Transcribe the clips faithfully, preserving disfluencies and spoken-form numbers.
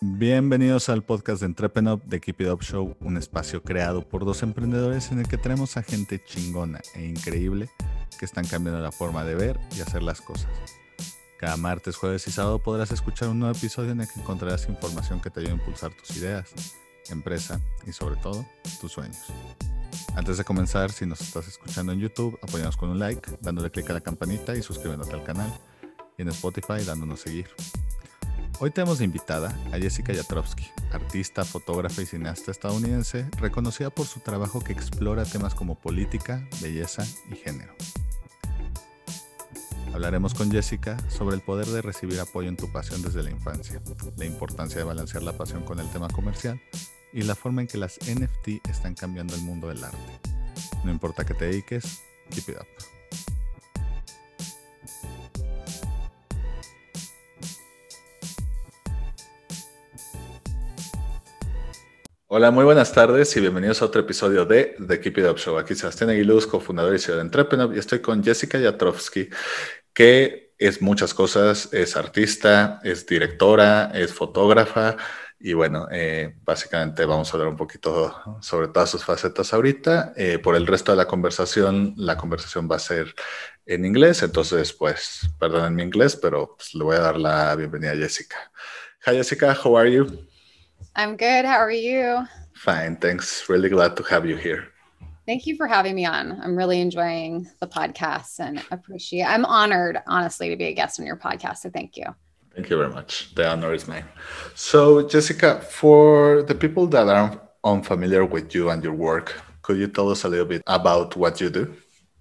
Bienvenidos al podcast de Entrepreneur de Keep It Up Show, un espacio creado por dos emprendedores en el que tenemos a gente chingona e increíble que están cambiando la forma de ver y hacer las cosas. Cada martes, jueves y sábado podrás escuchar un nuevo episodio en el que encontrarás información que te ayude a impulsar tus ideas, empresa y sobre todo, tus sueños. Antes de comenzar, si nos estás escuchando en YouTube, apóyanos con un like, dándole click a la campanita y suscribiéndote al canal. Y en Spotify, dándonos seguir. Hoy tenemos de invitada a Jessica Jatrovsky, artista, fotógrafa y cineasta estadounidense, reconocida por su trabajo que explora temas como política, belleza y género. Hablaremos con Jessica sobre el poder de recibir apoyo en tu pasión desde la infancia, la importancia de balancear la pasión con el tema comercial y la forma en que las N F T están cambiando el mundo del arte. No importa qué te dediques, keep it up. Hola, muy buenas tardes y bienvenidos a otro episodio de The Keep It Up Show. Aquí Sebastián Aguiluz, cofundador y C E O de Entrepreneur, y estoy con Jessica Jatrovsky, que es muchas cosas, es artista, es directora, es fotógrafa, y bueno, eh, básicamente vamos a hablar un poquito sobre todas sus facetas ahorita. Eh, por el resto de la conversación, la conversación va a ser en inglés, entonces pues, perdonen mi inglés, pero pues, le voy a dar la bienvenida a Jessica. Hi Jessica, how are you? I'm good. How are you? Fine, thanks. Really glad to have you here. Thank you for having me on. I'm really enjoying the podcast and appreciate. I'm honored, honestly, to be a guest on your podcast. So thank you. Thank you very much. The honor is mine. So, Jessica, for the people that are unfamiliar with you and your work, could you tell us a little bit about what you do?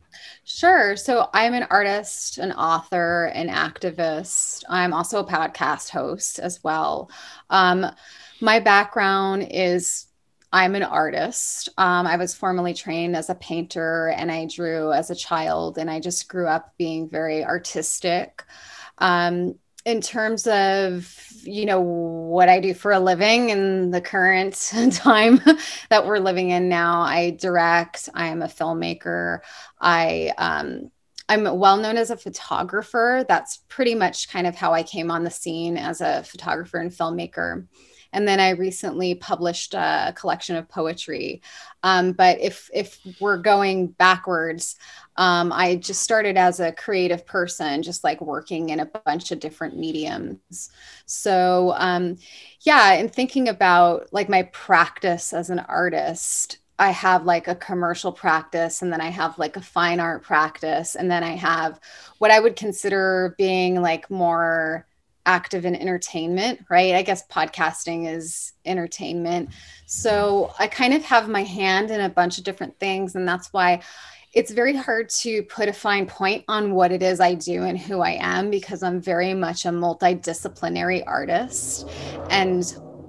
Sure. So I'm an artist, an author, an activist. I'm also a podcast host as well. Um, my background is I'm an artist. Um, I was formerly trained as a painter and I drew as a child, and I just grew up being very artistic. Um, in terms of, you know, what I do for a living in the current time that we're living in now, I direct, I am a filmmaker. I, um, I'm well known as a photographer. That's pretty much kind of how I came on the scene as a photographer and filmmaker. And then I recently published a collection of poetry. Um, but if if we're going backwards, um, I just started as a creative person, just like working in a bunch of different mediums. So um, yeah, and thinking about like my practice as an artist, I have like a commercial practice, and then I have like a fine art practice, and then I have what I would consider being like more active in entertainment, right? I guess podcasting is entertainment. So I kind of have my hand in a bunch of different things. And that's why it's very hard to put a fine point on what it is I do and who I am, because I'm very much a multidisciplinary artist. And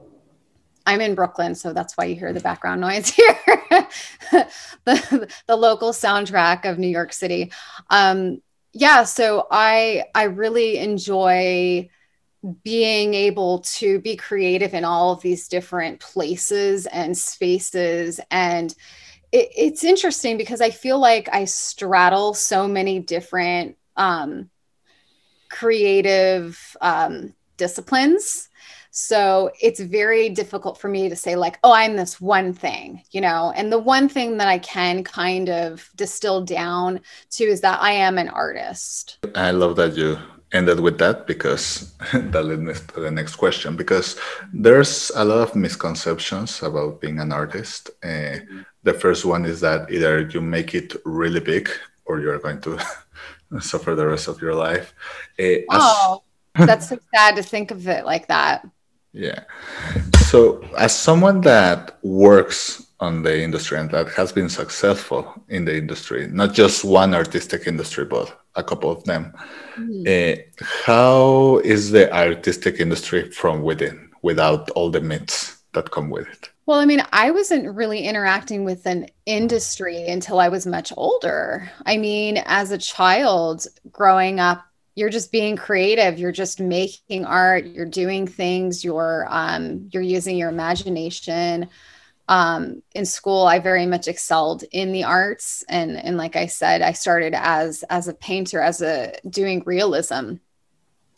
I'm in Brooklyn, so that's why you hear the background noise here. the, the local soundtrack of New York City. Um, yeah, so I I really enjoy being able to be creative in all of these different places and spaces. And it, it's interesting because I feel like I straddle so many different um, creative um, disciplines. So it's very difficult for me to say like, oh, I'm this one thing, you know, and the one thing that I can kind of distill down to is that I am an artist. I love that you ended with that, because that led me to the next question, because there's a lot of misconceptions about being an artist. Uh, the first one is that either you make it really big or you're going to suffer the rest of your life. Uh, oh, as- that's so sad to think of it like that. Yeah. So as someone that works on the industry and that has been successful in the industry, not just one artistic industry, but a couple of them, mm. uh, how is the artistic industry from within, without all the myths that come with it? Well, I mean, I wasn't really interacting with an industry until I was much older. I mean, as a child growing up, you're just being creative. You're just making art. You're doing things. You're um, you're using your imagination. Um, in school, I very much excelled in the arts, and and like I said, I started as as a painter, as a doing realism.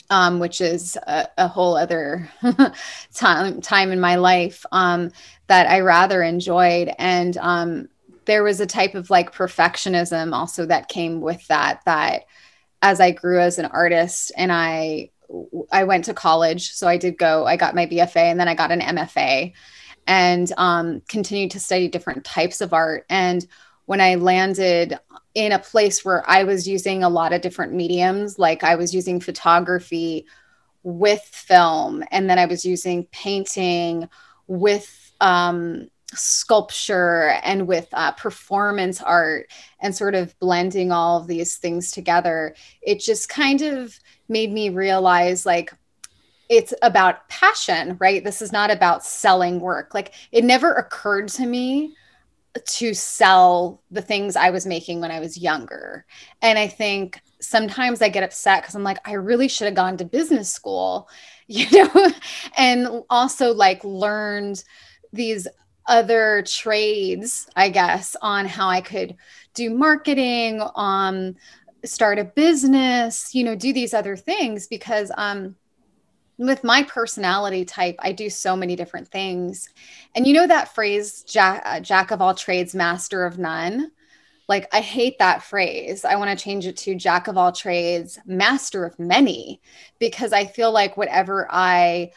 um, which is a, a whole other time time in my life, um, that I rather enjoyed. And um, there was a type of like perfectionism also that came with that, that as I grew as an artist and I I went to college. So I did go, I got my B F A and then I got an M F A and um, continued to study different types of art. And when I landed in a place where I was using a lot of different mediums, like I was using photography with film, and then I was using painting with um, sculpture and with uh, performance art, and sort of blending all of these things together, it just kind of made me realize like, it's about passion, right? This is not about selling work. Like it never occurred to me to sell the things I was making when I was younger. And I think sometimes I get upset because I'm like, I really should have gone to business school, you know, and also like learned these other trades, I guess, on how I could do marketing, um, start a business, you know, do these other things because um with my personality type, I do so many different things. And you know that phrase, jack, uh, jack of all trades, master of none? Like, I hate that phrase. I want to change it to jack of all trades, master of many, because I feel like whatever I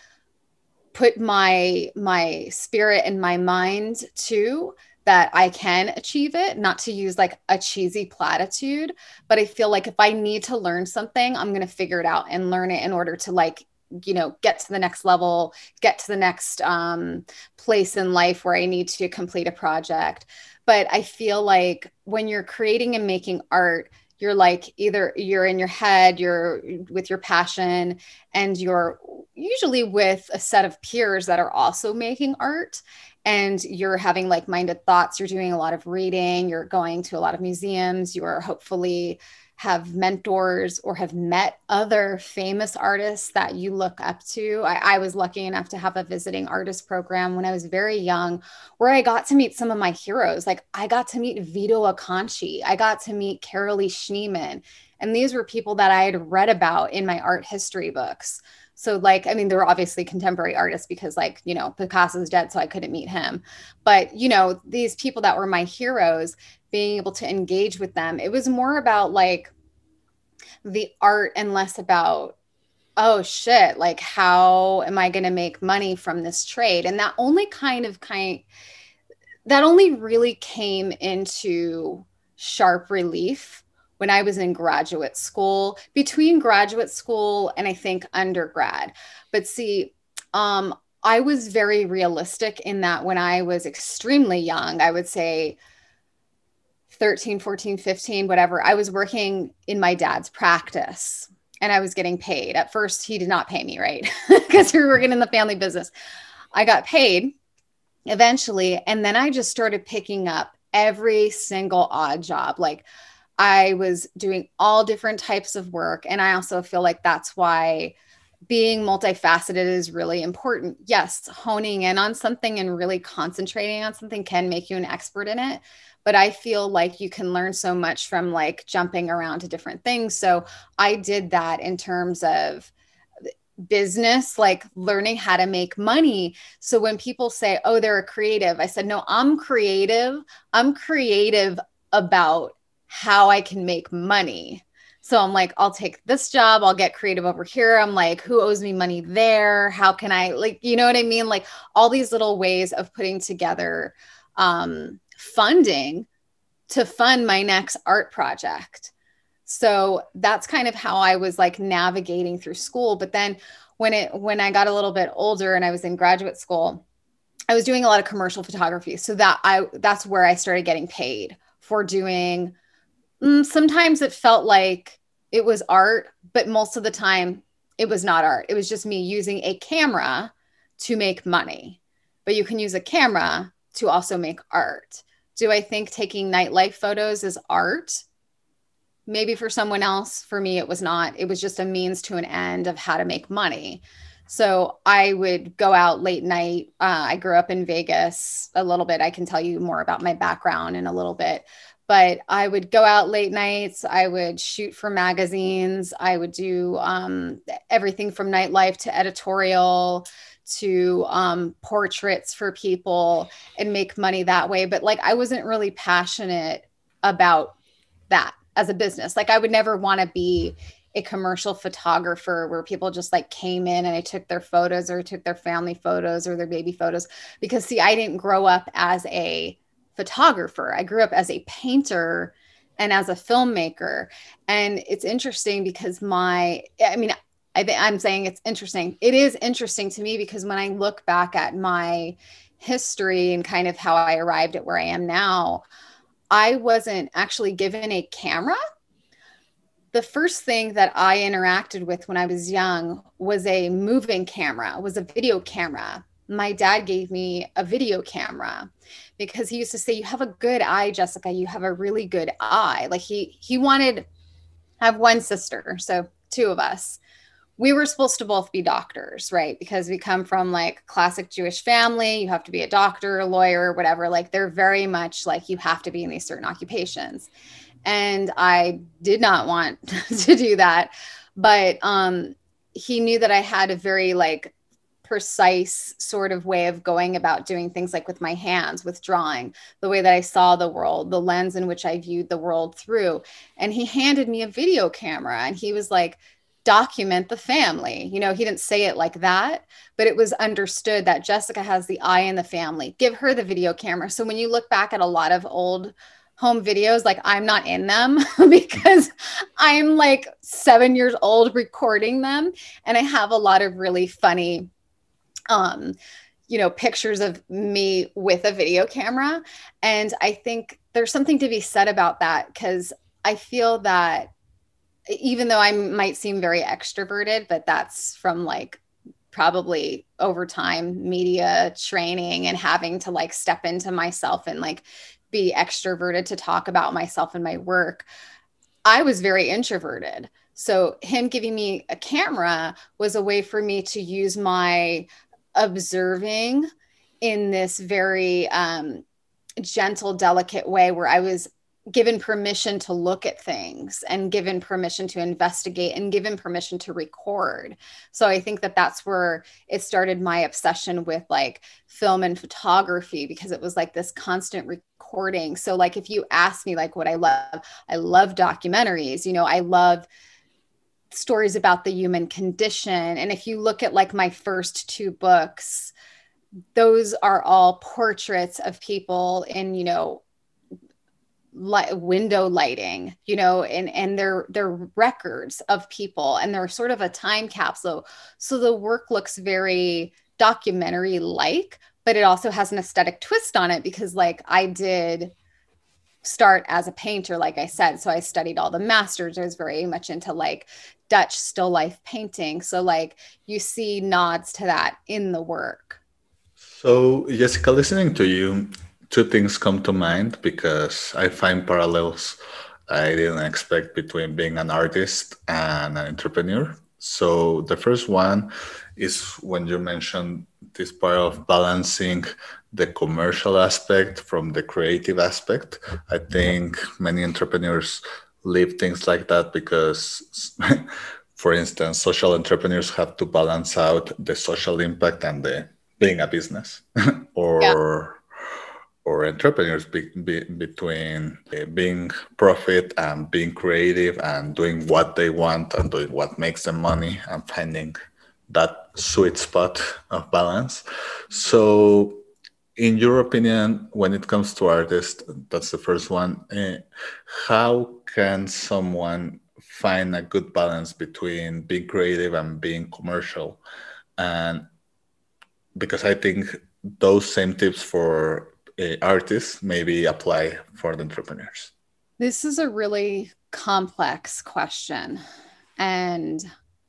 put my my spirit and my mind to, that I can achieve it, not to use like a cheesy platitude, but I feel like if I need to learn something, I'm going to figure it out and learn it in order to like, you know, get to the next level, get to the next um, place in life where I need to complete a project. But I feel like when you're creating and making art, you're like either you're in your head, you're with your passion, and you're usually with a set of peers that are also making art, and you're having like-minded thoughts. You're doing a lot of reading, you're going to a lot of museums, you are hopefully have mentors or have met other famous artists that you look up to. I, I was lucky enough to have a visiting artist program when I was very young, where I got to meet some of my heroes. Like I got to meet Vito Acconci, I got to meet Carolee Schneemann, and these were people that I had read about in my art history books. So like, I mean, there were obviously contemporary artists because like, you know, Picasso's dead, so I couldn't meet him. But, you know, these people that were my heroes, being able to engage with them, it was more about like the art and less about, oh shit, like how am I going to make money from this trade? And that only kind of kind that only really came into sharp relief when I was in graduate school, between graduate school and I think undergrad. But see, um, I was very realistic in that when I was extremely young, I would say thirteen, fourteen, fifteen, whatever, I was working in my dad's practice and I was getting paid. At first, he did not pay me, right? Because we were working in the family business. I got paid eventually. And then I just started picking up every single odd job. Like I was doing all different types of work. And I also feel like that's why being multifaceted is really important. Yes, honing in on something and really concentrating on something can make you an expert in it. But I feel like you can learn so much from like jumping around to different things. So I did that in terms of business, like learning how to make money. So when people say, oh, they're a creative, I said, no, I'm creative. I'm creative about how I can make money. So I'm like, I'll take this job. I'll get creative over here. I'm like, who owes me money there? How can I, like, you know what I mean? Like all these little ways of putting together um, funding to fund my next art project. So that's kind of how I was like navigating through school. But then when it, when I got a little bit older and I was in graduate school, I was doing a lot of commercial photography. So that I, that's where I started getting paid for doing, mm, sometimes it felt like it was art, but most of the time it was not art. It was just me using a camera to make money, but you can use a camera to also make art. Do I think taking nightlife photos is art? Maybe for someone else. For me, it was not. It was just a means to an end of how to make money. So I would go out late night. Uh, I grew up in Vegas a little bit. I can tell you more about my background in a little bit. but I would go out late nights. I would shoot for magazines. I would do um, everything from nightlife to editorial to um, portraits for people and make money that way. But like, I wasn't really passionate about that as a business. Like, I would never want to be a commercial photographer where people just like came in and I took their photos or took their family photos or their baby photos. Because see, I didn't grow up as a photographer. I grew up as a painter and as a filmmaker. And it's interesting because my, I mean, I think I'm saying it's interesting. It is interesting to me because when I look back at my history and kind of how I arrived at where I am now, I wasn't actually given a camera. The first thing that I interacted with when I was young was a moving camera, was a video camera. My dad gave me a video camera because he used to say, you have a good eye, Jessica. You have a really good eye. Like he, he wanted, I have one sister, so two of us. We were supposed to both be doctors, right? Because we come from like classic Jewish family. You have to be a doctor, a lawyer, whatever. Like they're very much like you have to be in these certain occupations. And I did not want to do that. But um, he knew that I had a very like precise sort of way of going about doing things, like with my hands, with drawing, the way that I saw the world, the lens in which I viewed the world through. And he handed me a video camera and he was like, document the family. You know, he didn't say it like that, but it was understood that Jessica has the eye in the family. Give her the video camera. So when you look back at a lot of old home videos, like I'm not in them because I'm like seven years old recording them. And I have a lot of really funny, um, you know, pictures of me with a video camera. And I think there's something to be said about that because I feel that even though I might seem very extroverted, but that's from like probably over time media training and having to like step into myself and like be extroverted to talk about myself and my work. I was very introverted. So him giving me a camera was a way for me to use my observing in this very um, gentle, delicate way where I was given permission to look at things and given permission to investigate and given permission to record. So I think that that's where it started my obsession with like film and photography, because it was like this constant recording. So like, if you ask me like what I love, I love documentaries, you know, I love stories about the human condition. And if you look at like my first two books, those are all portraits of people in, you know, Light, window lighting, you know, and and they're they're records of people, and they're sort of a time capsule. So the work looks very documentary like, but it also has an aesthetic twist on it because like I did start as a painter, like I said. So I studied all the masters. I was very much into like Dutch still life painting. So like you see nods to that in the work. So Jessica, listening to you, two things come to mind because I find parallels I didn't expect between being an artist and an entrepreneur. So the first one is when you mentioned this part of balancing the commercial aspect from the creative aspect. I think many entrepreneurs leave things like that because, for instance, social entrepreneurs have to balance out the social impact and the being a business or yeah. or entrepreneurs be, be, between uh, being profit and being creative and doing what they want and doing what makes them money and finding that sweet spot of balance. So in your opinion, when it comes to artists, that's the first one, uh, how can someone find a good balance between being creative and being commercial? And because I think those same tips for uh, artists maybe apply for the entrepreneurs. This is a really complex question. And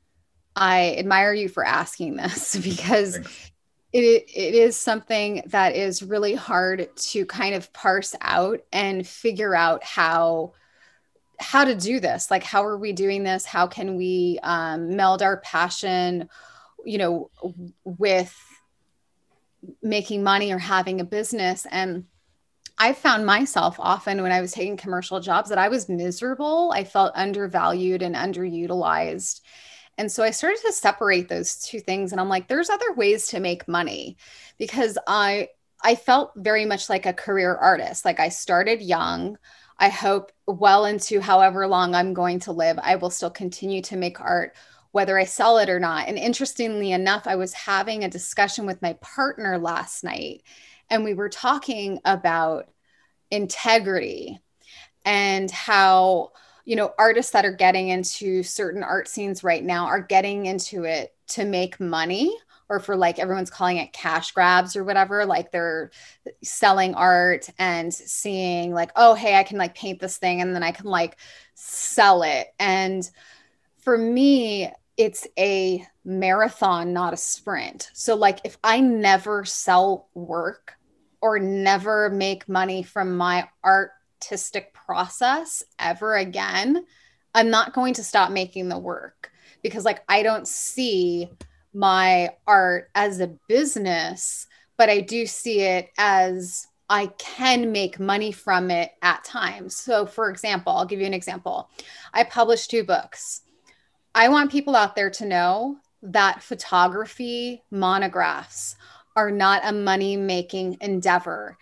I admire you for asking this because it, it is something that is really hard to kind of parse out and figure out how how to do this. Like, how are we doing this? How can we um, meld our passion, you know, with making money or having a business? And I found myself often when I was taking commercial jobs that I was miserable. I felt undervalued and underutilized. And so I started to separate those two things. And I'm like, there's other ways to make money because I I felt very much like a career artist. Like I started young. I hope well into however long I'm going to live, I will still continue to make art, whether I sell it or not. And interestingly enough, I was having a discussion with my partner last night, and we were talking about integrity and how, you know, artists that are getting into certain art scenes right now are getting into it to make money, or for like everyone's calling it cash grabs or whatever. Like they're selling art and seeing like, oh, hey, I can like paint this thing and then I can like sell it. And for me, it's a marathon, not a sprint. So like if I never sell work or never make money from my artistic process ever again, I'm not going to stop making the work because like I don't see my art as a business, but I do see it as I can make money from it at times. So for example, I'll give you an example. I published two books. I want people out there to know that photography monographs are not a money-making endeavor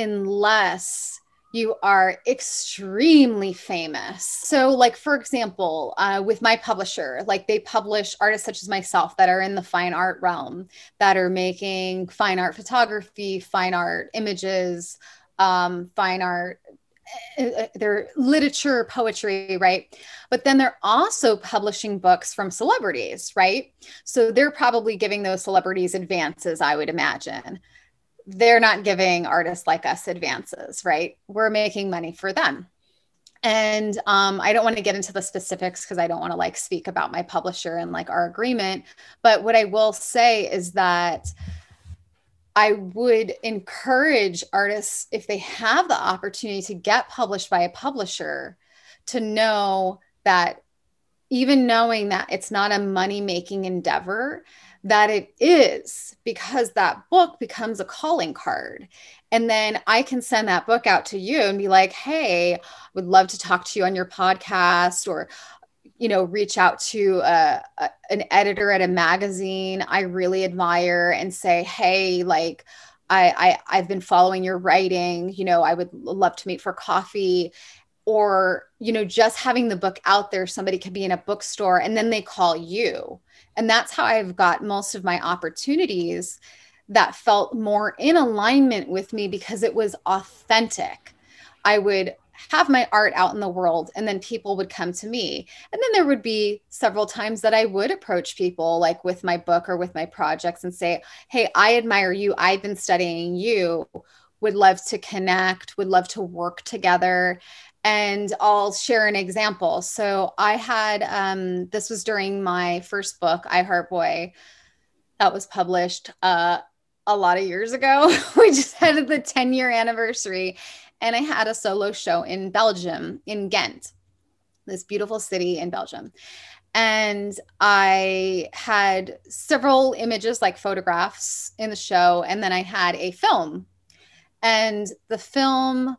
unless you are extremely famous. So like, for example, uh, with my publisher, like they publish artists such as myself that are in the fine art realm, that are making fine art photography, fine art images, um, fine art, uh, they're literature, poetry, right? But then they're also publishing books from celebrities, right? So they're probably giving those celebrities advances, I would imagine. They're not giving artists like us advances, right? We're making money for them. And um, I don't want to get into the specifics because I don't want to like speak about my publisher and like our agreement. But what I will say is that I would encourage artists, if they have the opportunity to get published by a publisher, to know that even knowing that it's not a money-making endeavor, that it is, because that book becomes a calling card. And then I can send that book out to you and be like, hey, I would love to talk to you on your podcast, or, you know, reach out to a, a, an editor at a magazine I really admire and say, hey, like, I, I, I've been following your writing, you know, I would love to meet for coffee. Or, you know, just having the book out there, somebody could be in a bookstore and then they call you. And that's how I've got most of my opportunities that felt more in alignment with me because it was authentic. I would have my art out in the world and then people would come to me. And then there would be several times that I would approach people like with my book or with my projects and say, hey, I admire you. I've been studying you, would love to connect, would love to work together. And I'll share an example. So I had, um, this was during my first book, I Heart Boy, that was published uh, a lot of years ago. We just had the ten year anniversary. And I had a solo show in Belgium, in Ghent, this beautiful city in Belgium. And I had several images, like photographs in the show. And then I had a film. And the film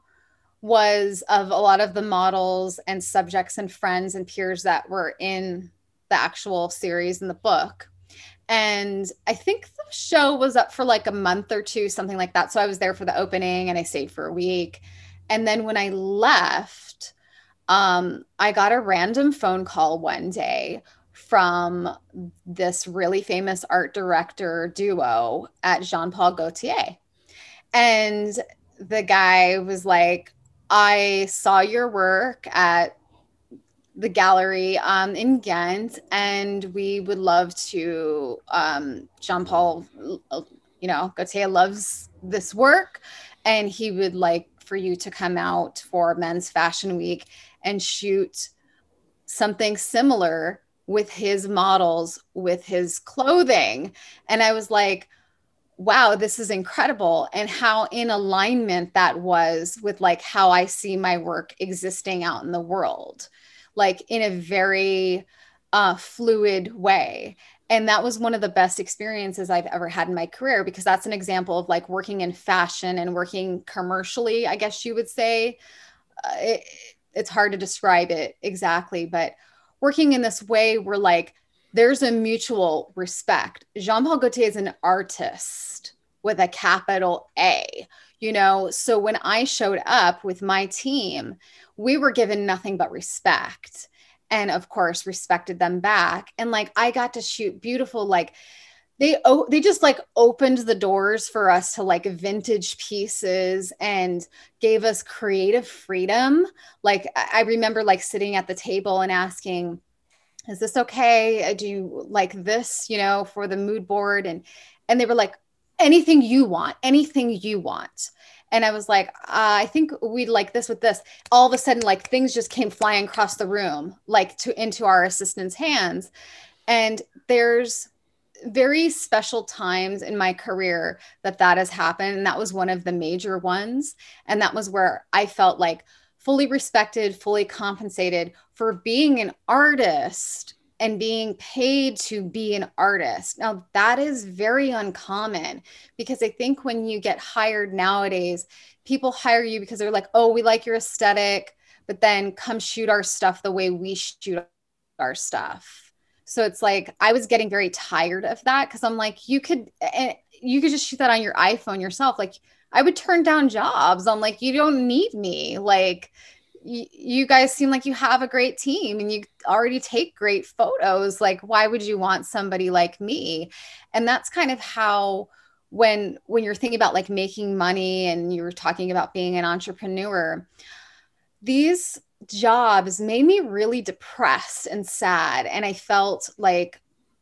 was of a lot of the models and subjects and friends and peers that were in the actual series in the book. And I think the show was up for like a month or two, something like that. So I was there for the opening and I stayed for a week. And then when I left, um, I got a random phone call one day from this really famous art director duo at Jean Paul Gaultier. And the guy was like, I saw your work at the gallery um, in Ghent, and we would love to, um, Jean Paul, you know, Gaultier loves this work, and he would like for you to come out for Men's Fashion Week and shoot something similar with his models, with his clothing. And I was like, wow, this is incredible. And how in alignment that was with like how I see my work existing out in the world, like in a very uh, fluid way. And that was one of the best experiences I've ever had in my career, because that's an example of like working in fashion and working commercially, I guess you would say. Uh, it, it's hard to describe it exactly, but working in this way where like there's a mutual respect. Jean-Paul Gaultier is an artist with a capital A, you know? So when I showed up with my team, we were given nothing but respect, and of course respected them back. And like I got to shoot beautiful, like they oh they just like opened the doors for us to like vintage pieces and gave us creative freedom. Like I remember like sitting at the table and asking, is this okay? Do you like this, you know, for the mood board? And and they were like, anything you want, anything you want. And I was like, uh, I think we'd like this with this. All of a sudden, like things just came flying across the room, like to into our assistants' hands. And there's very special times in my career that that has happened. And that was one of the major ones. And that was where I felt like fully respected, fully compensated for being an artist and being paid to be an artist. Now, that is very uncommon, because I think when you get hired nowadays, people hire you because they're like, oh, we like your aesthetic, but then come shoot our stuff the way we shoot our stuff. So it's like, I was getting very tired of that, because I'm like, you could, you could just shoot that on your iPhone yourself. Like I would turn down jobs. I'm like, you don't need me. Like, you guys seem like you have a great team and you already take great photos. Like, why would you want somebody like me? And that's kind of how, when, when you're thinking about like making money and you were talking about being an entrepreneur, these jobs made me really depressed and sad. And I felt like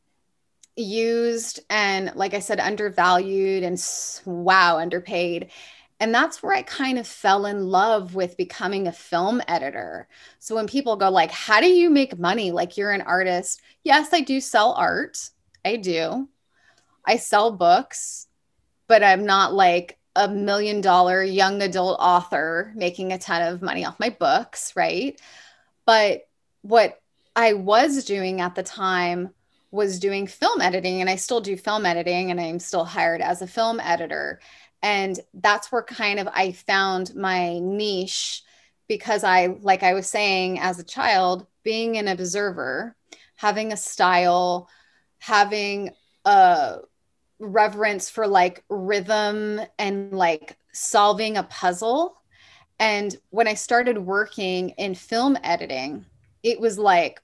used and, like I said, undervalued and wow, underpaid. And that's where I kind of fell in love with becoming a film editor. So when people go like, how do you make money? Like you're an artist. Yes, I do sell art. I do. I sell books, but I'm not like a million dollar young adult author making a ton of money off my books, right? But what I was doing at the time was doing film editing, and I still do film editing, and I'm still hired as a film editor. And that's where kind of I found my niche, because I, like I was saying, as a child, being an observer, having a style, having a reverence for like rhythm and like solving a puzzle. And when I started working in film editing, it was like,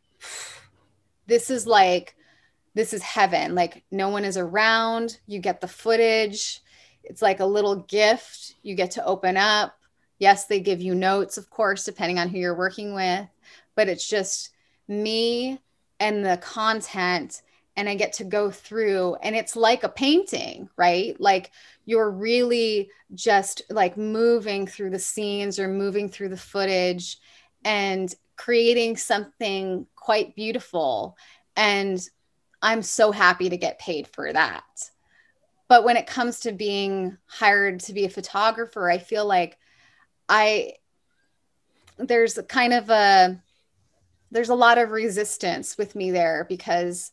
this is like, this is heaven. Like no one is around. You get the footage. It's like a little gift you get to open up. Yes, they give you notes, of course, depending on who you're working with, but it's just me and the content, and I get to go through, and it's like a painting, right? Like you're really just like moving through the scenes or moving through the footage and creating something quite beautiful. And I'm so happy to get paid for that. But when it comes to being hired to be a photographer, I feel like I, there's kind of a, there's a lot of resistance with me there, because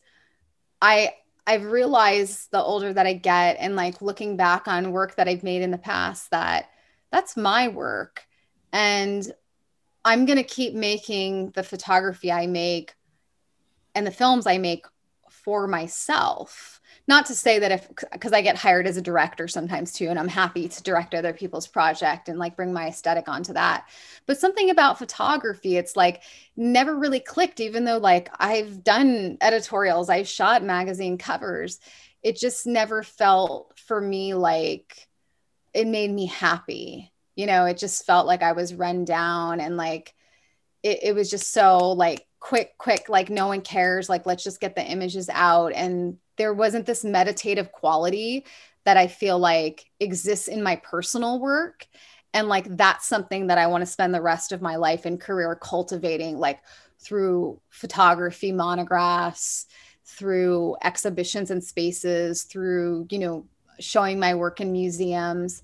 I, I've realized the older that I get and like looking back on work that I've made in the past, that that's my work. And I'm going to keep making the photography I make and the films I make for myself. Not to say that if, because I get hired as a director sometimes too, and I'm happy to direct other people's project and like bring my aesthetic onto that. But something about photography, it's like never really clicked, even though like I've done editorials, I've shot magazine covers. It just never felt for me like it made me happy. You know, it just felt like I was run down, and like it, it was just so like quick, quick, like no one cares. Like, let's just get the images out. And there wasn't this meditative quality that I feel like exists in my personal work. And like, that's something that I want to spend the rest of my life and career cultivating, like through photography, monographs, through exhibitions and spaces, through, you know, showing my work in museums.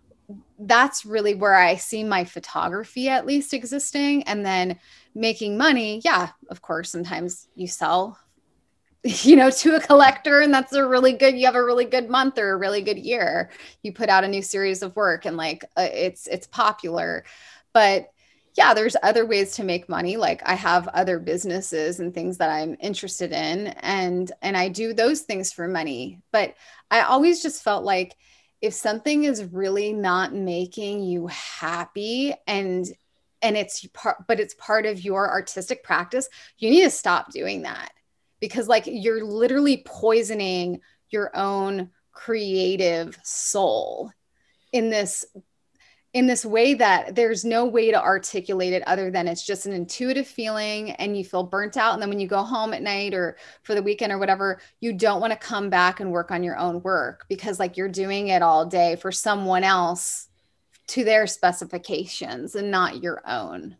That's really where I see my photography at least existing. And then making money. Yeah, of course, sometimes you sell you know, to a collector, and that's a really good, you have a really good month or a really good year. You put out a new series of work and like uh, it's it's popular. But yeah, there's other ways to make money. Like I have other businesses and things that I'm interested in, and and I do those things for money. But I always just felt like if something is really not making you happy and and it's part but it's part of your artistic practice, you need to stop doing that, because like you're literally poisoning your own creative soul in this in this way that there's no way to articulate it other than it's just an intuitive feeling and you feel burnt out. And then when you go home at night or for the weekend or whatever, you don't want to come back and work on your own work because like you're doing it all day for someone else to their specifications and not your own.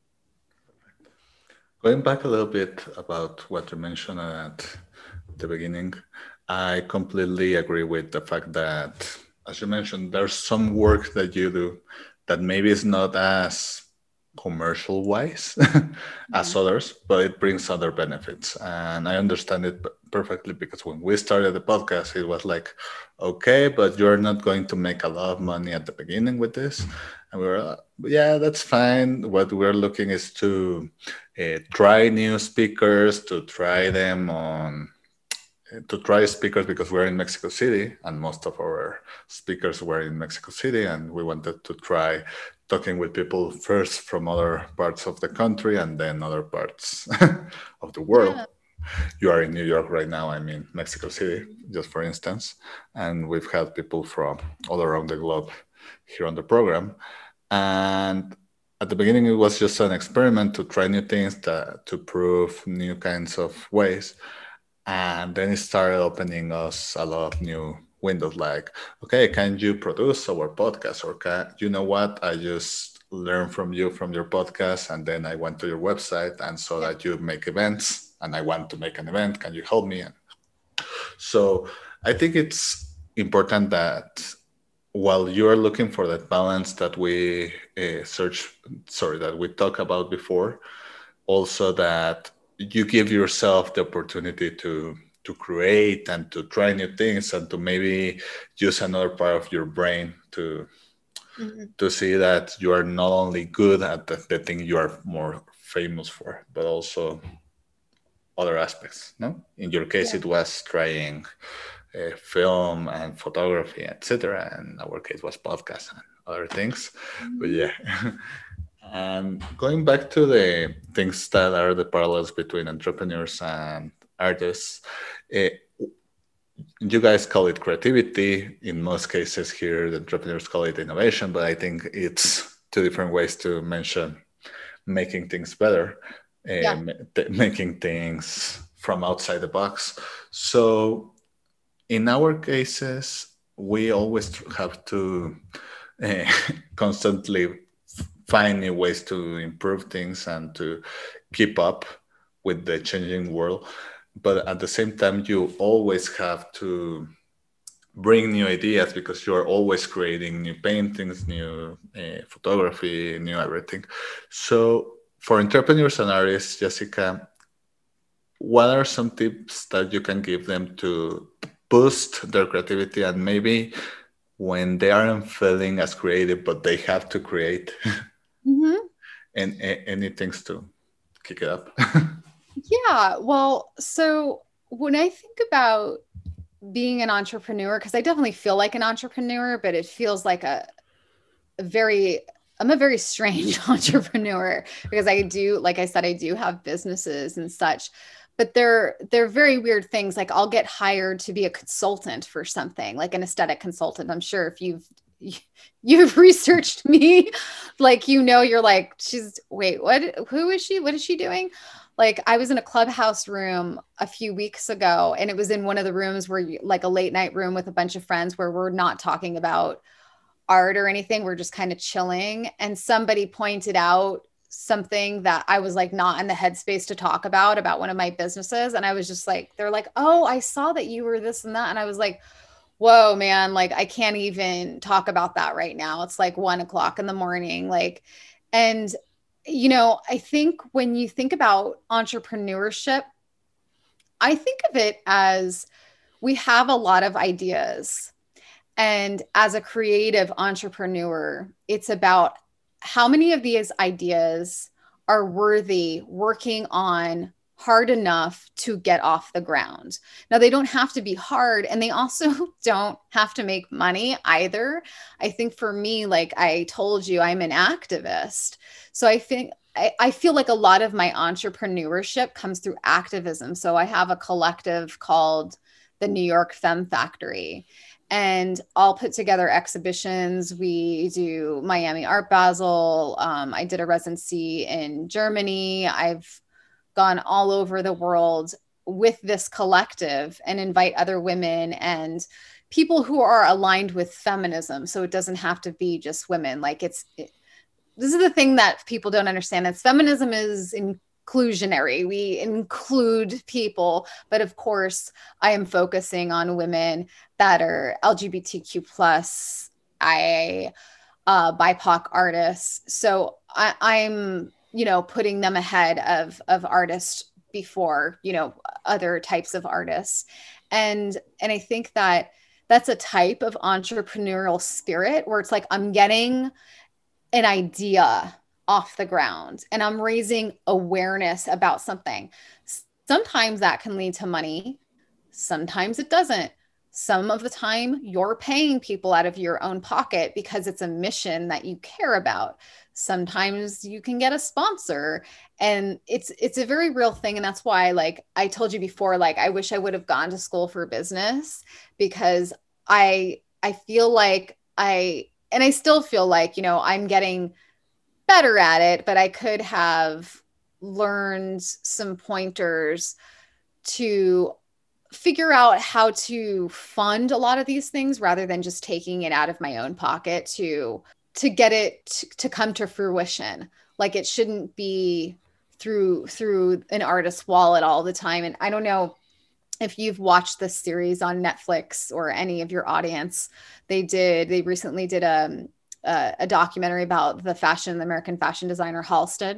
Going back a little bit about what you mentioned at the beginning, I completely agree with the fact that, as you mentioned, there's some work that you do that maybe is not as commercial wise as others, but it brings other benefits. And I understand it perfectly because when we started the podcast, it was like, okay, but you're not going to make a lot of money at the beginning with this. And we were, uh, yeah, that's fine. What we're looking is to uh, try new speakers, to try them on to try speakers because we're in Mexico City and most of our speakers were in Mexico City, and we wanted to try talking with people first from other parts of the country and then other parts of the world. Yeah. You are in New York right now, I'm in Mexico City, just for instance, and we've had people from all around the globe here on the program. And at the beginning, it was just an experiment to try new things, to, to prove new kinds of ways. And then it started opening us a lot of new windows like, okay, can you produce our podcast? Or can, you know what? I just learned from you from your podcast. And then I went to your website and saw that you make events and I want to make an event. Can you help me? So I think it's important that while you're looking for that balance that we uh, search, sorry, that we talked about before, also that you give yourself the opportunity to to create and to try new things and to maybe use another part of your brain to mm-hmm. to see that you are not only good at the, the thing you are more famous for, but also other aspects. No, in your case, yeah. It was trying uh, film and photography, et cetera. And in our case was podcast and other things. Mm-hmm. But yeah. And going back to the things that are the parallels between entrepreneurs and artists, uh, you guys call it creativity. In most cases here, the entrepreneurs call it innovation, but I think it's two different ways to mention making things better, uh, yeah. t- making things from outside the box. So in our cases, we always have to uh, constantly find new ways to improve things and to keep up with the changing world. But at the same time, you always have to bring new ideas because you're always creating new paintings, new uh, photography, new everything. So for entrepreneurs and artists, Jessica, what are some tips that you can give them to boost their creativity and maybe when they aren't feeling as creative, but they have to create? Mm-hmm. And any things to kick it up? Yeah, well, so when I think about being an entrepreneur, because I definitely feel like an entrepreneur, but it feels like a, a very, I'm a very strange entrepreneur because I do, like I said, I do have businesses and such, but they're, they're very weird things. Like I'll get hired to be a consultant for something, like an aesthetic consultant. I'm sure if you've you've researched me, like, you know, you're like, she's wait, what, who is she? What is she doing? Like I was in a Clubhouse room a few weeks ago and it was in one of the rooms where you, like a late night room with a bunch of friends where we're not talking about art or anything. We're just kind of chilling. And somebody pointed out something that I was like, not in the headspace to talk about, about one of my businesses. And I was just like, they're like, oh, I saw that you were this and that. And I was like, whoa, man, like I can't even talk about that right now. It's like one o'clock in the morning. Like, and, you know, I think when you think about entrepreneurship, I think of it as we have a lot of ideas. And as a creative entrepreneur, it's about how many of these ideas are worthy working on hard enough to get off the ground. Now, they don't have to be hard, and they also don't have to make money either. I think for me, like I told you, I'm an activist. So I think I, I feel like a lot of my entrepreneurship comes through activism. So I have a collective called the New York Femme Factory. And I'll put together exhibitions. We do Miami Art Basel. Um, I did a residency in Germany. I've gone all over the world with this collective and invite other women and people who are aligned with feminism. So it doesn't have to be just women. Like it's, it, this is the thing that people don't understand. Is feminism is inclusionary. We include people, but of course I am focusing on women that are L G B T Q plus, I, uh, B I P O C artists. So I, I'm, you know, putting them ahead of, of artists before, you know, other types of artists. And, and I think that that's a type of entrepreneurial spirit where it's like, I'm getting an idea off the ground and I'm raising awareness about something. Sometimes that can lead to money. Sometimes it doesn't. Some of the time you're paying people out of your own pocket because it's a mission that you care about. Sometimes you can get a sponsor, and it's, it's a very real thing. And that's why, like I told you before, like, I wish I would have gone to school for business, because I, I feel like I, and I still feel like, you know, I'm getting better at it, but I could have learned some pointers to figure out how to fund a lot of these things rather than just taking it out of my own pocket to to get it to, to come to fruition. Like it shouldn't be through through an artist's wallet all the time. And I don't know if you've watched this series on Netflix or any of your audience. They did they recently did a a, a documentary about the fashion the American fashion designer Halsted.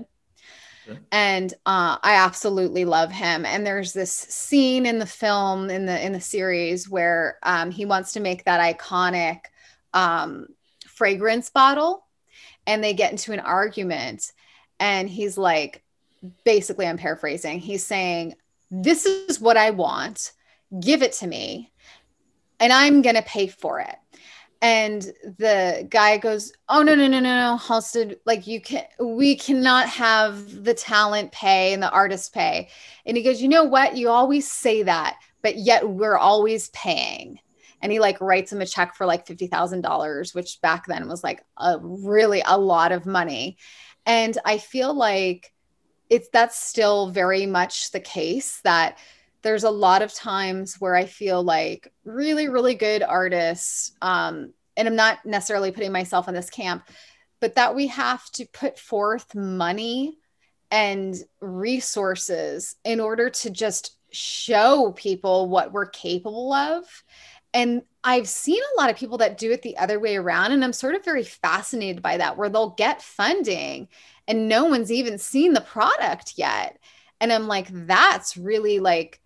And uh, I absolutely love him. And there's this scene in the film, in the in the series, where um, he wants to make that iconic um, fragrance bottle, and they get into an argument. And he's like, basically, I'm paraphrasing. He's saying, "This is what I want. Give it to me, and I'm gonna pay for it." And the guy goes, "Oh, no, no, no, no, no, Halsted, like you can, we cannot have the talent pay and the artist pay." And he goes, "You know what? You always say that, but yet we're always paying." And he like writes him a check for like fifty thousand dollars, which back then was like a really a lot of money. And I feel like it's, that's still very much the case, that there's a lot of times where I feel like really, really good artists, um, and I'm not necessarily putting myself in this camp, but that we have to put forth money and resources in order to just show people what we're capable of. And I've seen a lot of people that do it the other way around. And I'm sort of very fascinated by that, where they'll get funding and no one's even seen the product yet. And I'm like, that's really like,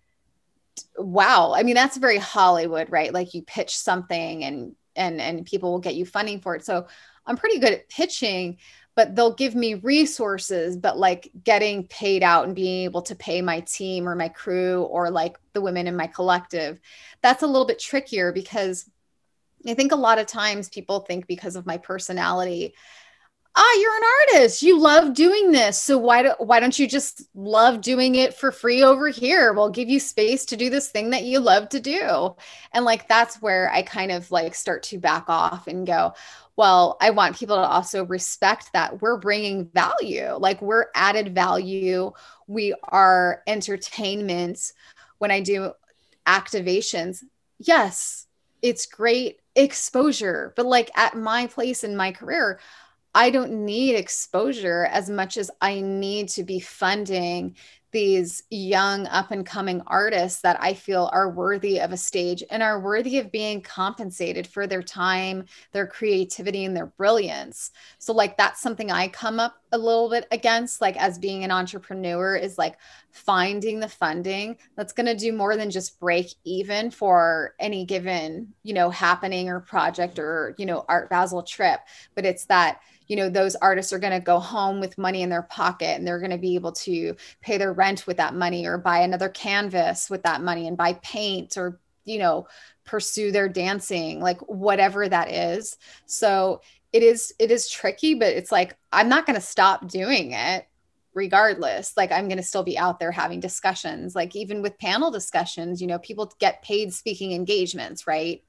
wow. I mean, that's very Hollywood, right? Like you pitch something and and and people will get you funding for it. So I'm pretty good at pitching, but they'll give me resources, but like getting paid out and being able to pay my team or my crew or like the women in my collective, that's a little bit trickier, because I think a lot of times people think because of my personality, ah, you're an artist, you love doing this, so why do, why don't you just love doing it for free over here? We'll give you space to do this thing that you love to do. And like, that's where I kind of like start to back off and go, well, I want people to also respect that we're bringing value, like we're added value. We are entertainment. When I do activations, yes, it's great exposure, but like at my place in my career, I don't need exposure as much as I need to be funding these young up and coming artists that I feel are worthy of a stage and are worthy of being compensated for their time, their creativity, and their brilliance. So like that's something I come up a little bit against, like as being an entrepreneur, is like finding the funding that's going to do more than just break even for any given, you know, happening or project or, you know, Art Basel trip. But it's that, you know, those artists are going to go home with money in their pocket and they're going to be able to pay their rent with that money or buy another canvas with that money and buy paint or, you know, pursue their dancing, like whatever that is. So it is, it is tricky, but it's like, I'm not going to stop doing it regardless. Like I'm going to still be out there having discussions, like even with panel discussions, you know, people get paid speaking engagements, right?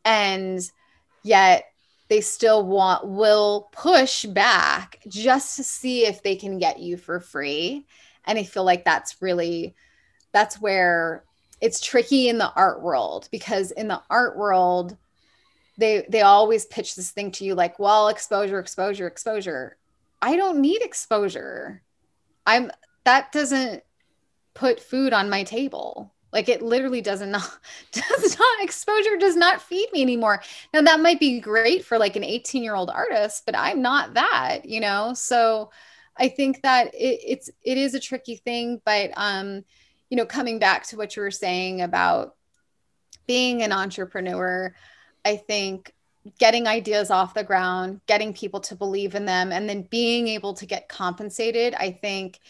And yet they still want, will push back just to see if they can get you for free. And I feel like that's really, that's where it's tricky in the art world, because in the art world, they, they always pitch this thing to you like, well, exposure, exposure, exposure. I don't need exposure. I'm, that doesn't put food on my table. Like it literally doesn't not, does not, exposure does not feed me anymore. Now that might be great for like an eighteen year old artist, but I'm not that, you know? So I think that it, it's, it is a tricky thing, but, um, you know, coming back to what you were saying about being an entrepreneur, I think getting ideas off the ground, getting people to believe in them, and then being able to get compensated, I think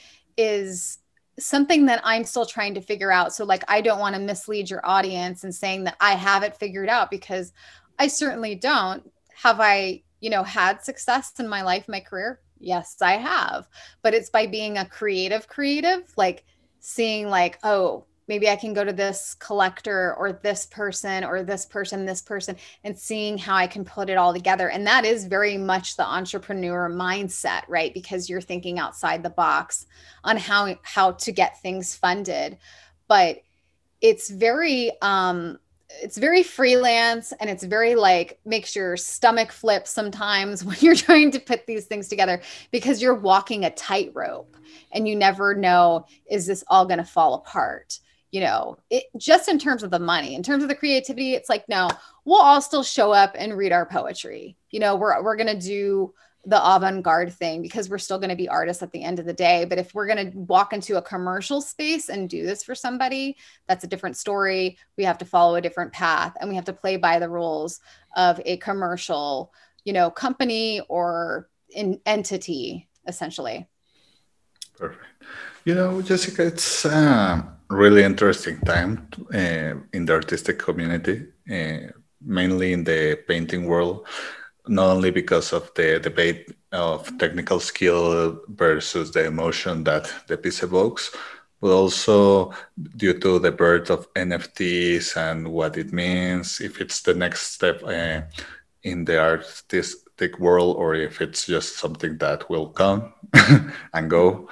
is something that I'm still trying to figure out. So like, I don't want to mislead your audience and saying that I have it figured out, because I certainly don't. Have I, you know, had success in my life, my career? Yes, I have. But it's by being a creative creative, like seeing like, oh, maybe I can go to this collector or this person or this person, this person, and seeing how I can put it all together. And that is very much the entrepreneur mindset, right? Because you're thinking outside the box on how, how to get things funded. But it's very, um, it's very freelance, and it's very like makes your stomach flip sometimes when you're trying to put these things together, because you're walking a tightrope and you never know, is this all going to fall apart? You know, it just in terms of the money, in terms of the creativity, it's like, no, we'll all still show up and read our poetry. You know, we're, we're going to do the avant-garde thing because we're still going to be artists at the end of the day. But if we're going to walk into a commercial space and do this for somebody, that's a different story. We have to follow a different path, and we have to play by the rules of a commercial, you know, company or an entity, essentially. Perfect. You know, Jessica, it's a really interesting time uh, in the artistic community, uh, mainly in the painting world, not only because of the debate of technical skill versus the emotion that the piece evokes, but also due to the birth of N F Ts and what it means, if it's the next step uh, in the artistic world, or if it's just something that will come and go.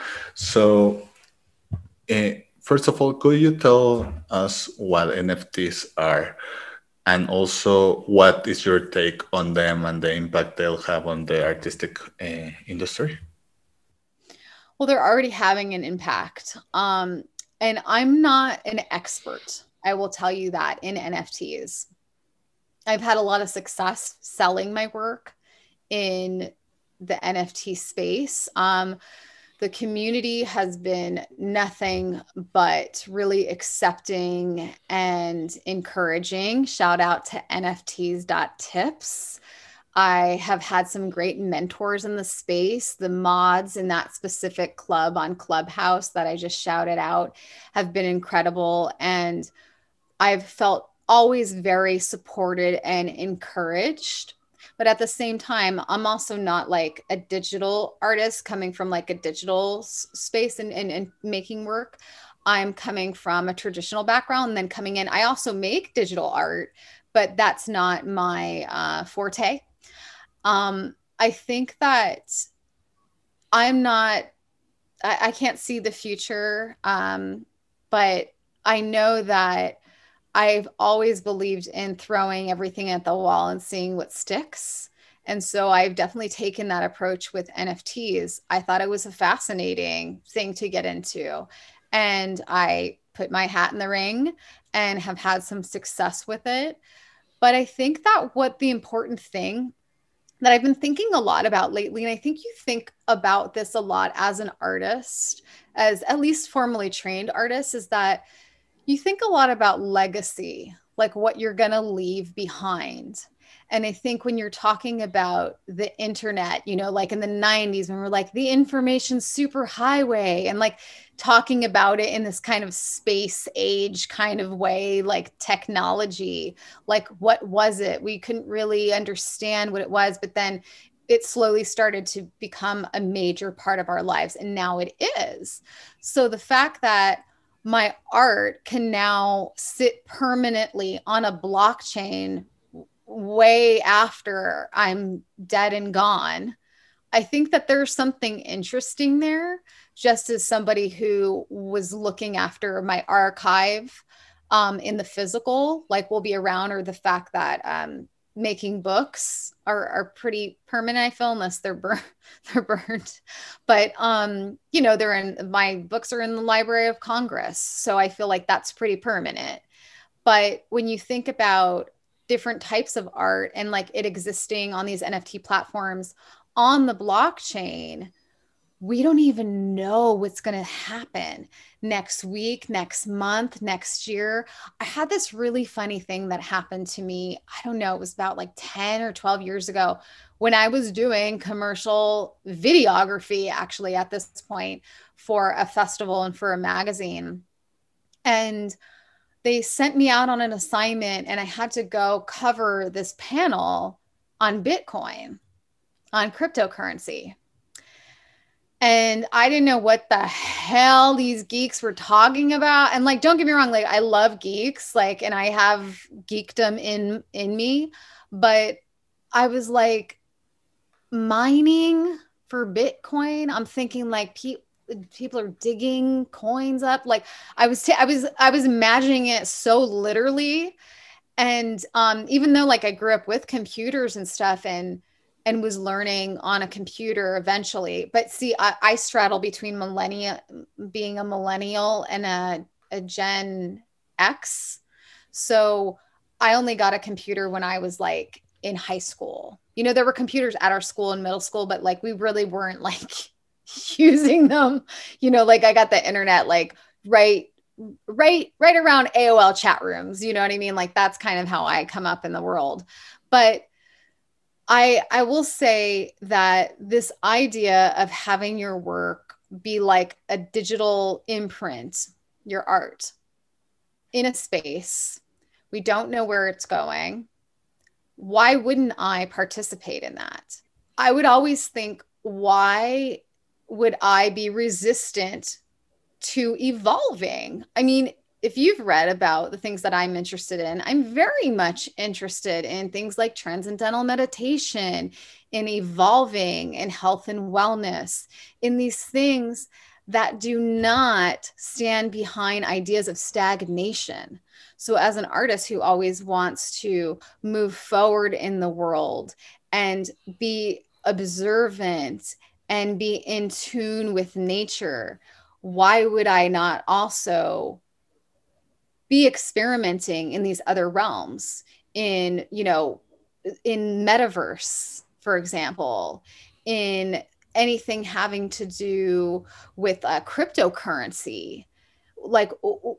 So, uh, first of all, could you tell us what N F Ts are? And also, what is your take on them and the impact they'll have on the artistic uh, industry? Well, they're already having an impact. Um, and I'm not an expert, I will tell you that, in N F Ts. I've had a lot of success selling my work in the N F T space. Um, the community has been nothing but really accepting and encouraging. Shout out to N F Ts dot tips. I have had some great mentors in the space. The mods in that specific club on Clubhouse that I just shouted out have been incredible. And I've felt always very supported and encouraged. But at the same time, I'm also not like a digital artist coming from like a digital s- space and, and, and making work. I'm coming from a traditional background and then coming in. I also make digital art, but that's not my uh, forte. Um, I think that I'm not, I, I can't see the future, um, but I know that I've always believed in throwing everything at the wall and seeing what sticks. And so I've definitely taken that approach with N F Ts. I thought it was a fascinating thing to get into. and I put my hat in the ring and have had some success with it. But I think that what the important thing that I've been thinking a lot about lately, and I think you think about this a lot as an artist, as at least formally trained artists, is that you think a lot about legacy, like what you're going to leave behind. And I think when you're talking about the internet, you know, like in the nineties, when we're like the information superhighway and like talking about it in this kind of space age kind of way, like technology, like what was it? We couldn't really understand what it was, but then it slowly started to become a major part of our lives. And now it is. So the fact that my art can now sit permanently on a blockchain way after I'm dead and gone. I think that there's something interesting there, just as somebody who was looking after my archive um, in the physical, like will be around, or the fact that um, making books are, are pretty permanent, I feel, unless they're bur- they're burned. But um, you know, they're in my books are in the Library of Congress, so I feel like that's pretty permanent. But when you think about different types of art and like it existing on these N F T platforms on the blockchain, we don't even know what's going to happen next week, next month, next year. I had this really funny thing that happened to me. I don't know, it was about like ten or twelve years ago when I was doing commercial videography, actually, at this point, for a festival and for a magazine. And they sent me out on an assignment and I had to go cover this panel on Bitcoin, on cryptocurrency. And I didn't know what the hell these geeks were talking about. And like, don't get me wrong, like I love geeks, like, and I have geekdom in in me, but I was like, mining for Bitcoin. I'm thinking like pe- people are digging coins up. Like I was, t- I was, I was imagining it so literally. And um, even though like I grew up with computers and stuff, and and was learning on a computer eventually. But see, I, I straddle between millennia, being a millennial and a, a Gen X. So I only got a computer when I was like in high school. You know, there were computers at our school in middle school, but like we really weren't like using them. You know, like I got the internet like right right right around A O L chat rooms, you know what I mean? Like that's kind of how I come up in the world. But I I will say that this idea of having your work be like a digital imprint, your art in a space, we don't know where it's going. Why wouldn't I participate in that? I would always think, why would I be resistant to evolving? I mean, if you've read about the things that I'm interested in, I'm very much interested in things like transcendental meditation, in evolving, in health and wellness, in these things that do not stand behind ideas of stagnation. So, as an artist who always wants to move forward in the world and be observant and be in tune with nature, why would I not also be experimenting in these other realms, in, you know, in metaverse, for example, in anything having to do with uh, cryptocurrency? Like,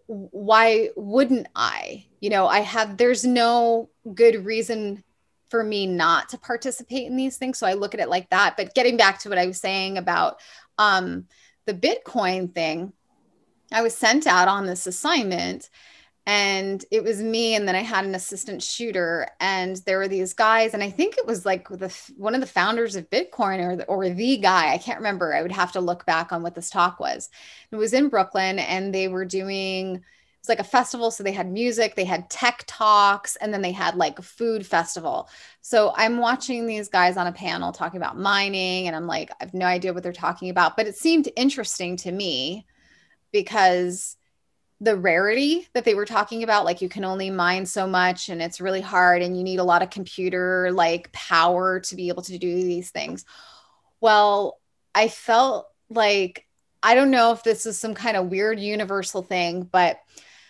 why wouldn't I? You know, I have, there's no good reason for me not to participate in these things. So I look at it like that. But getting back to what I was saying about um, the Bitcoin thing, I was sent out on this assignment and it was me, and then I had an assistant shooter, and there were these guys, and I think it was like the one of the founders of Bitcoin, or the, or the guy, I can't remember. I would have to look back on what this talk was. It was in Brooklyn, and they were doing, it was like a festival, so they had music, they had tech talks, and then they had like a food festival. So I'm watching these guys on a panel talking about mining, and I'm like, I have no idea what they're talking about, but it seemed interesting to me because the rarity that they were talking about, like you can only mine so much and it's really hard and you need a lot of computer like power to be able to do these things. Well, I felt like I don't know if this is some kind of weird universal thing, but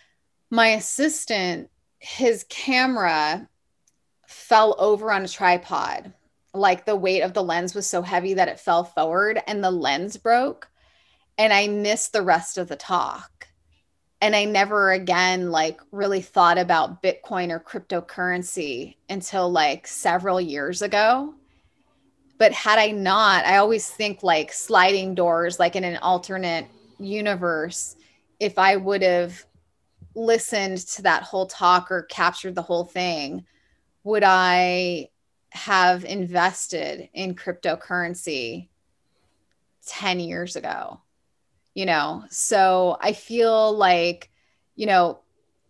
my assistant, his camera fell over on a tripod. Like the weight of the lens was so heavy that it fell forward and the lens broke. And I missed the rest of the talk. And I never again like really thought about Bitcoin or cryptocurrency until like several years ago. But had I not, I always think like sliding doors, like in an alternate universe, if I would have listened to that whole talk or captured the whole thing, would I have invested in cryptocurrency ten years ago? You know, so I feel like, you know,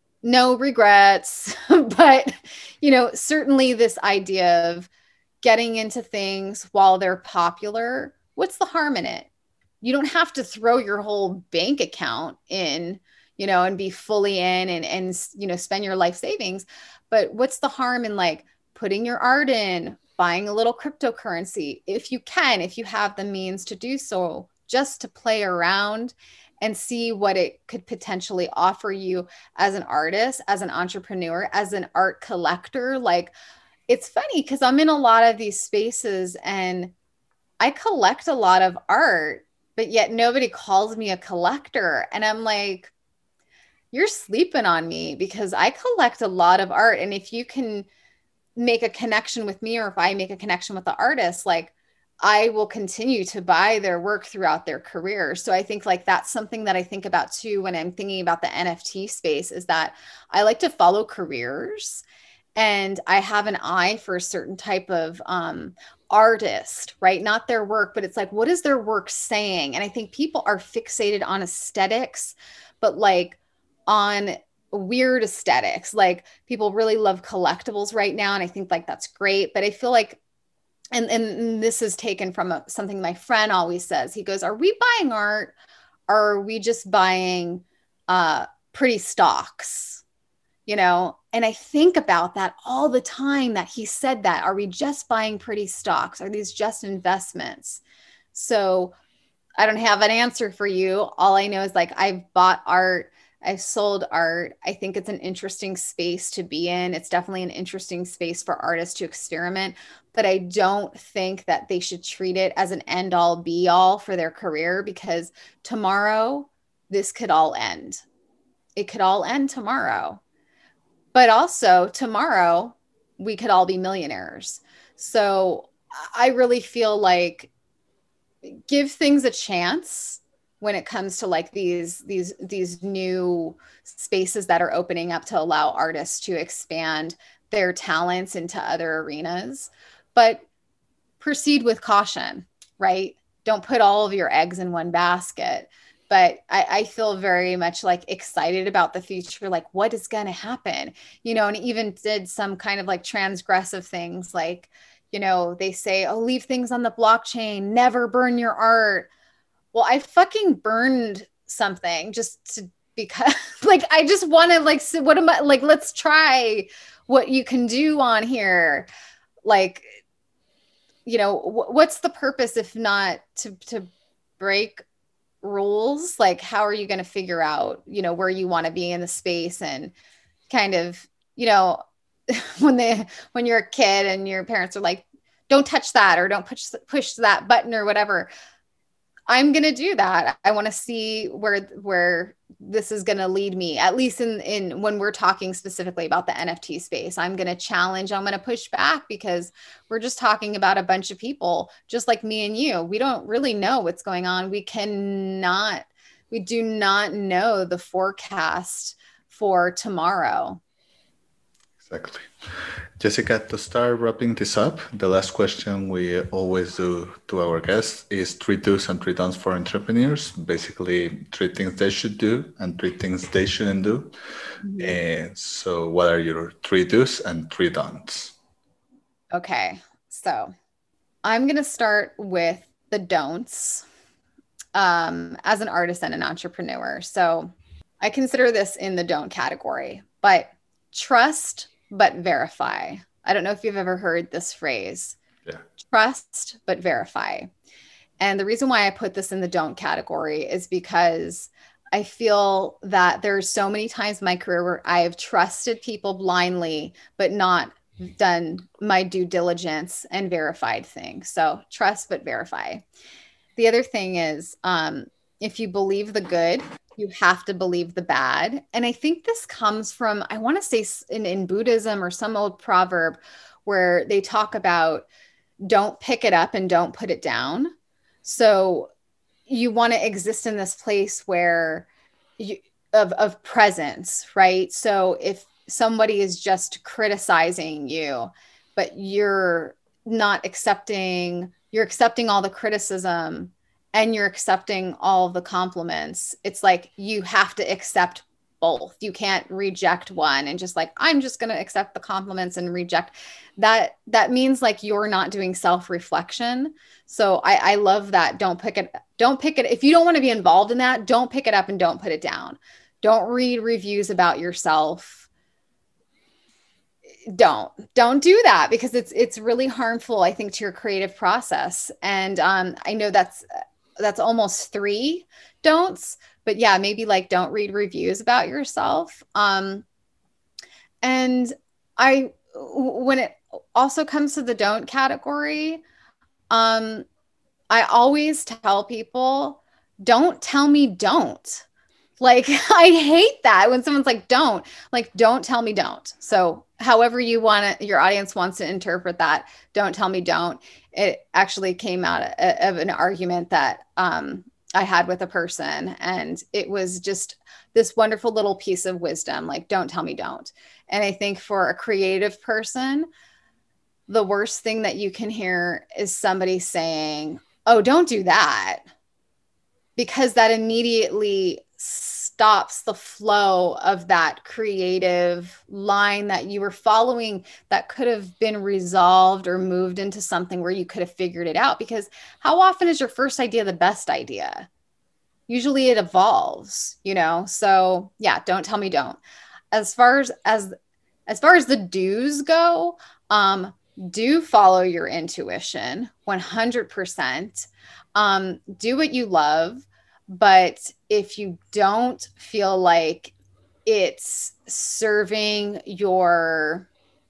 no regrets, but, you know, certainly this idea of getting into things while they're popular, what's the harm in it? You don't have to throw your whole bank account in, you know, and be fully in and, and, you know, spend your life savings. But what's the harm in like putting your art in, buying a little cryptocurrency, if you can, if you have the means to do so, just to play around and see what it could potentially offer you as an artist, as an entrepreneur, as an art collector. Like, it's funny because I'm in a lot of these spaces and I collect a lot of art, but yet nobody calls me a collector. And I'm like, you're sleeping on me because I collect a lot of art. And if you can make a connection with me, or if I make a connection with the artist, like I will continue to buy their work throughout their career. So I think like that's something that I think about too when I'm thinking about the N F T space, is that I like to follow careers. And I have an eye for a certain type of um, artist, right? Not their work, but it's like, what is their work saying? And I think people are fixated on aesthetics, but like on weird aesthetics. Like people really love collectibles right now. And I think like that's great. But I feel like, and, and this is taken from a, something my friend always says. He goes, are we buying art? Or are we just buying uh, pretty stocks? You know, and I think about that all the time, that he said that. Are we just buying pretty stocks? Are these just investments? So I don't have an answer for you. All I know is like I've bought art, I've sold art. I think it's an interesting space to be in. It's definitely an interesting space for artists to experiment, but I don't think that they should treat it as an end all be all for their career, because tomorrow this could all end. It could all end tomorrow. But also tomorrow we could all be millionaires. So I really feel like give things a chance when it comes to like these these these new spaces that are opening up to allow artists to expand their talents into other arenas. But proceed with caution, right? Don't put all of your eggs in one basket. But I, I feel very much like excited about the future, like what is going to happen, you know, and even did some kind of like transgressive things, like, you know, they say, oh, leave things on the blockchain, never burn your art. Well, I fucking burned something just to, because like, I just want to like, so what am I like, let's try what you can do on here. Like, you know, wh- what's the purpose if not to, to break rules? Like how are you going to figure out, you know, where you want to be in the space? And kind of, you know, when they when you're a kid and your parents are like, don't touch that, or don't push push that button or whatever, I'm going to do that. I want to see where where this is going to lead me, at least in in when we're talking specifically about the N F T space. I'm going to challenge, I'm going to push back, because we're just talking about a bunch of people just like me and you. We don't really know what's going on. We cannot, we do not know the forecast for tomorrow. Exactly. Jessica, to start wrapping this up, the last question we always do to our guests is three do's and three don'ts for entrepreneurs. Basically, three things they should do and three things they shouldn't do. Mm-hmm. And so what are your three do's and three don'ts? Okay, so I'm going to start with the don'ts um, as an artist and an entrepreneur. So I consider this in the don't category, but trust but verify. I don't know if you've ever heard this phrase. Yeah. Trust but verify. And the reason why I put this in the don't category is because I feel that there's so many times in my career where I have trusted people blindly, but not done my due diligence and verified things. So trust, but verify. The other thing is, um, if you believe the good, you have to believe the bad. And I think this comes from, I want to say in, in Buddhism or some old proverb where they talk about don't pick it up and don't put it down. So you want to exist in this place where you of, of presence, right? So if somebody is just criticizing you, but you're not accepting, you're accepting all the criticism and you're accepting all of the compliments, it's like you have to accept both. You can't reject one and just like, I'm just going to accept the compliments and reject that. That means like you're not doing self-reflection. So I, I love that. Don't pick it. Don't pick it. If you don't want to be involved in that, don't pick it up and don't put it down. Don't read reviews about yourself. Don't, don't do that because it's, it's really harmful, I think, to your creative process. And um, I know that's, that's almost three don'ts, but yeah, maybe like don't read reviews about yourself. Um, and I, when it also comes to the don't category, um, I always tell people, don't tell me don't. Like, I hate that when someone's like, don't, like, don't tell me don't. So however you want to, your audience wants to interpret that, don't tell me don't. It actually came out of an argument that um, I had with a person. And it was just this wonderful little piece of wisdom, like, don't tell me don't. And I think for a creative person, the worst thing that you can hear is somebody saying, oh, don't do that. Because that immediately stops the flow of that creative line that you were following that could have been resolved or moved into something where you could have figured it out. Because how often is your first idea the best idea? Usually it evolves, you know? So yeah, don't tell me don't. As far as, as, as far as the do's go, um, do follow your intuition one hundred percent. Um, do what you love. But if you don't feel like it's serving your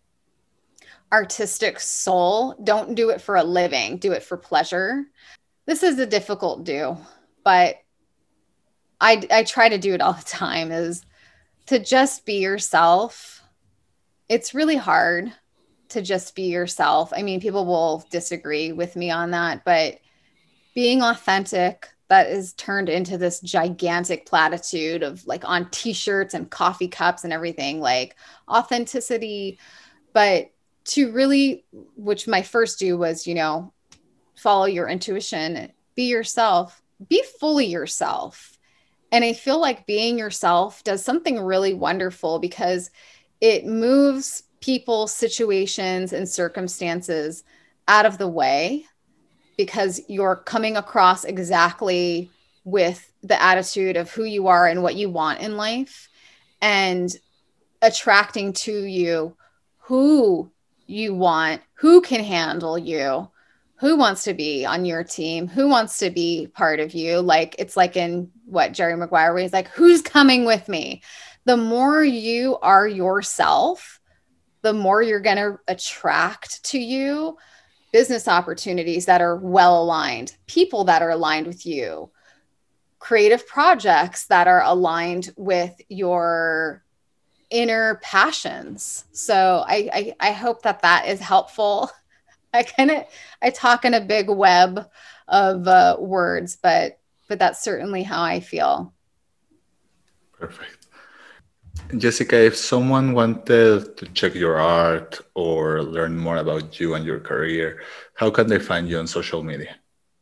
artistic soul, don't do it for a living, do it for pleasure. This is a difficult do, but I, I try to do it all the time, is to just be yourself. It's really hard to just be yourself. I mean, people will disagree with me on that, but being authentic, that is turned into this gigantic platitude of like on t-shirts and coffee cups and everything, like authenticity. But to really, which my first do was, you know, follow your intuition, be yourself, be fully yourself. And I feel like being yourself does something really wonderful because it moves people, situations, and circumstances out of the way, because you're coming across exactly with the attitude of who you are and what you want in life, and attracting to you who you want, who can handle you, who wants to be on your team, who wants to be part of you. Like, it's like in what Jerry Maguire, where he's like, who's coming with me? The more you are yourself, the more you're going to attract to you business opportunities that are well aligned, people that are aligned with you, creative projects that are aligned with your inner passions. So I, I, I hope that that is helpful. I kind of, I talk in a big web of uh, words, but, but that's certainly how I feel. Perfect. Jessica, if someone wanted to check your art or learn more about you and your career, how can they find you on social media?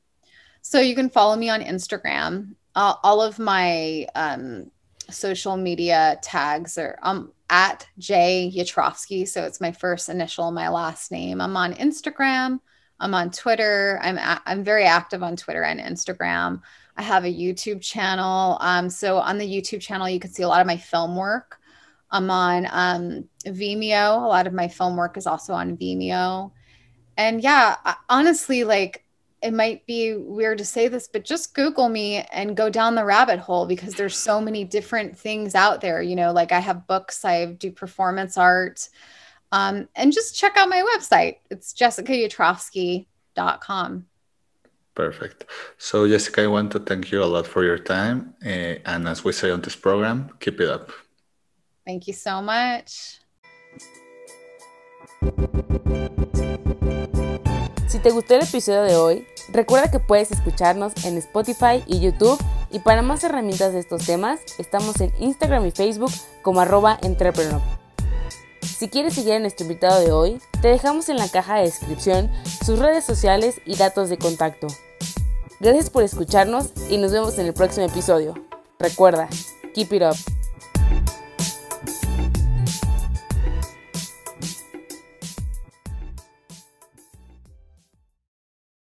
So you can follow me on Instagram. Uh, all of my um, social media tags are um, at J Yatrofsky. So it's my first initial, my last name. I'm on Instagram. I'm on Twitter. I'm a- I'm very active on Twitter and Instagram. I have a YouTube channel. Um, so on the YouTube channel, you can see a lot of my film work. I'm on um, Vimeo. A lot of my film work is also on Vimeo. And yeah, honestly, like it might be weird to say this, but just Google me and go down the rabbit hole, because there's so many different things out there. You know, like I have books, I do performance art, um, and just check out my website. It's jessica yatrovsky dot com. Perfect. So Jessica, I want to thank you a lot for your time. Uh, and as we say on this program, keep it up. Thank you so much. Si te gustó el episodio de hoy, recuerda que puedes escucharnos en Spotify y YouTube, y para más herramientas de estos temas, estamos en Instagram y Facebook como arroba entrepreneur. Si quieres seguir a nuestro invitado de hoy, te dejamos en la caja de descripción sus redes sociales y datos de contacto. Gracias por escucharnos y nos vemos en el próximo episodio. Recuerda, keep it up.